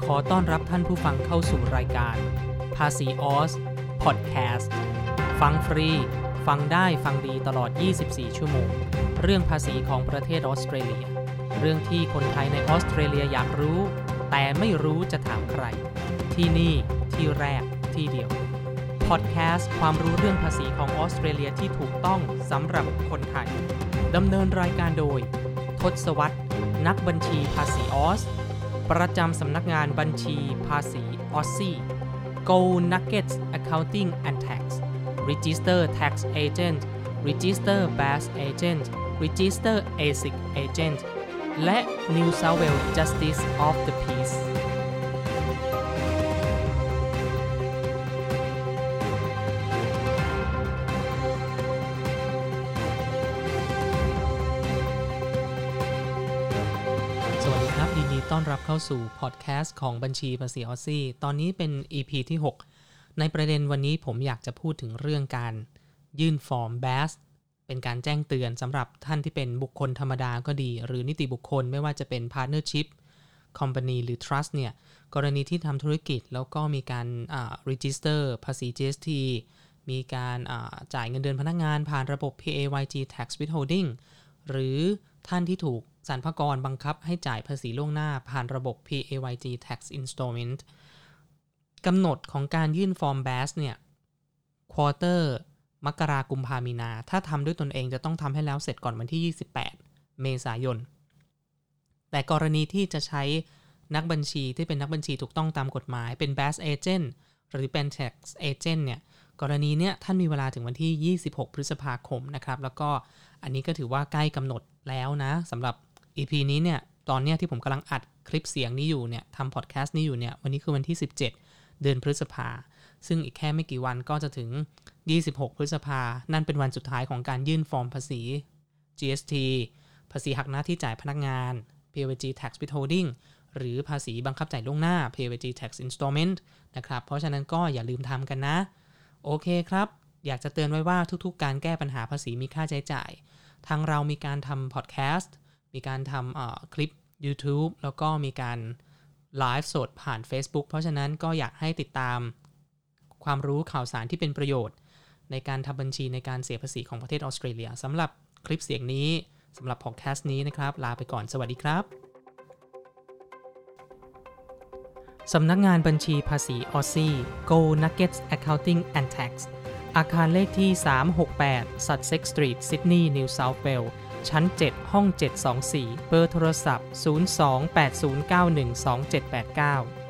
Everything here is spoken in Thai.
ขอต้อนรับท่านผู้ฟังเข้าสู่รายการภาษีออสพอดแคสต์ฟังฟรีฟังได้ฟังดีตลอด24ชั่วโมงเรื่องภาษีของประเทศออสเตรเลียเรื่องที่คนไทยในออสเตรเลียอยากรู้แต่ไม่รู้จะถามใครที่นี่ที่แรกที่เดียวพอดแคสต์ความรู้เรื่องภาษีของออสเตรเลียที่ถูกต้องสำหรับคนไทยดำเนินรายการโดยทศวรรษนักบัญชีภาษีออสประจำสำนักงานบัญชีภาษีออสซี่ Go Nuggets Accounting and Tax Register Tax Agent Register Bass Agent Register ASIC Agent และ New South Wales Justice of the Peaceต้อนรับเข้าสู่พอดแคสต์ของบัญชีภาษีออสซี่ตอนนี้เป็น EP ที่ 6 ในประเด็นวันนี้ผมอยากจะพูดถึงเรื่องการยื่นฟอร์ม BAS เป็นการแจ้งเตือนสำหรับท่านที่เป็นบุคคลธรรมดาก็ดีหรือนิติบุคคลไม่ว่าจะเป็น Partnership Company หรือ Trust เนี่ยกรณีที่ทำธุรกิจแล้วก็มีการRegister ภาษี GST มีการจ่ายเงินเดือนพนักงานผ่านระบบ PAYG Tax Withholding หรือท่านที่ถูกสรรพากรบังคับให้จ่ายภาษีล่วงหน้าผ่านระบบ PAYG Tax Installment กำหนดของการยื่นฟอร์ม BAS เนี่ยควอเตอร์มกราคมกุมภาพันธ์มีนาถ้าทำด้วยตนเองจะต้องทำให้แล้วเสร็จก่อนวันที่28เมษายนแต่กรณีที่จะใช้นักบัญชีที่เป็นนักบัญชีถูกต้องตามกฎหมายเป็น BAS Agent หรือเป็น Tax Agent เนี่ยกรณีเนี้ยท่านมีเวลาถึงวันที่26พฤษภาคมนะครับแล้วก็อันนี้ก็ถือว่าใกล้กำหนดแล้วนะสำหรับEP นี้เนี่ยตอนเนี้ยที่ผมกำลังอัดคลิปเสียงนี้อยู่เนี่ยทำพอดแคสต์นี้อยู่เนี่ยวันนี้คือวันที่17เดือนพฤษภาซึ่งอีกแค่ไม่กี่วันก็จะถึง26พฤษภานั่นเป็นวันสุดท้ายของการยื่นฟอร์มภาษี GST ภาษีหักหน้าที่จ่ายพนักงาน PAYG Tax Withholding หรือภาษีบังคับจ่ายล่วงหน้า PAYG Tax Installment นะครับเพราะฉะนั้นก็อย่าลืมทำกันนะโอเคครับอยากจะเตือนไว้ว่าทุกๆการแก้ปัญหาภาษีมีค่าใช้จ่ายทางเรามีการทำพอดแคสต์มีการทำคลิป YouTube แล้วก็มีการไลฟ์สดผ่าน Facebook เพราะฉะนั้นก็อยากให้ติดตามความรู้ข่าวสารที่เป็นประโยชน์ในการทำบัญชีในการเสียภาษีของประเทศออสเตรเลียสำหรับคลิปเสียงนี้สำหรับพอดแคสต์นี้นะครับลาไปก่อนสวัสดีครับสำนักงานบัญชีภาษีออสซี่ Go Nuggets Accounting and Tax อาคารเลขที่368 Sussex Street Sydney New South Walesชั้น7ห้อง724เบอร์โทรศัพท์0280912789